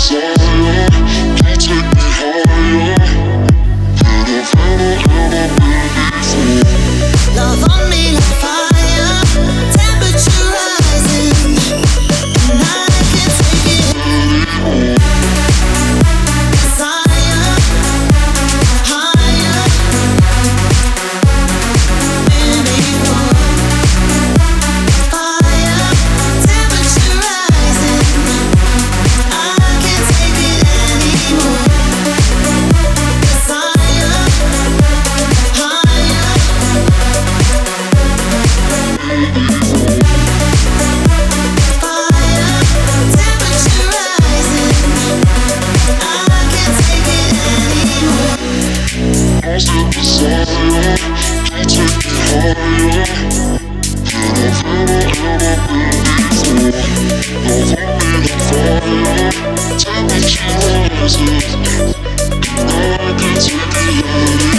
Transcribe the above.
desire to take me higher than I've ever been before. Love on me like fire, temperature rising, and I can't take it anymore. Desire, higher than before. Fire, temperature rising, I can't take it anymore. Desire, higher. Lost in desire to take me higher than I've ever been before. Love on me like fire, temperature rising, I can't take it anymore.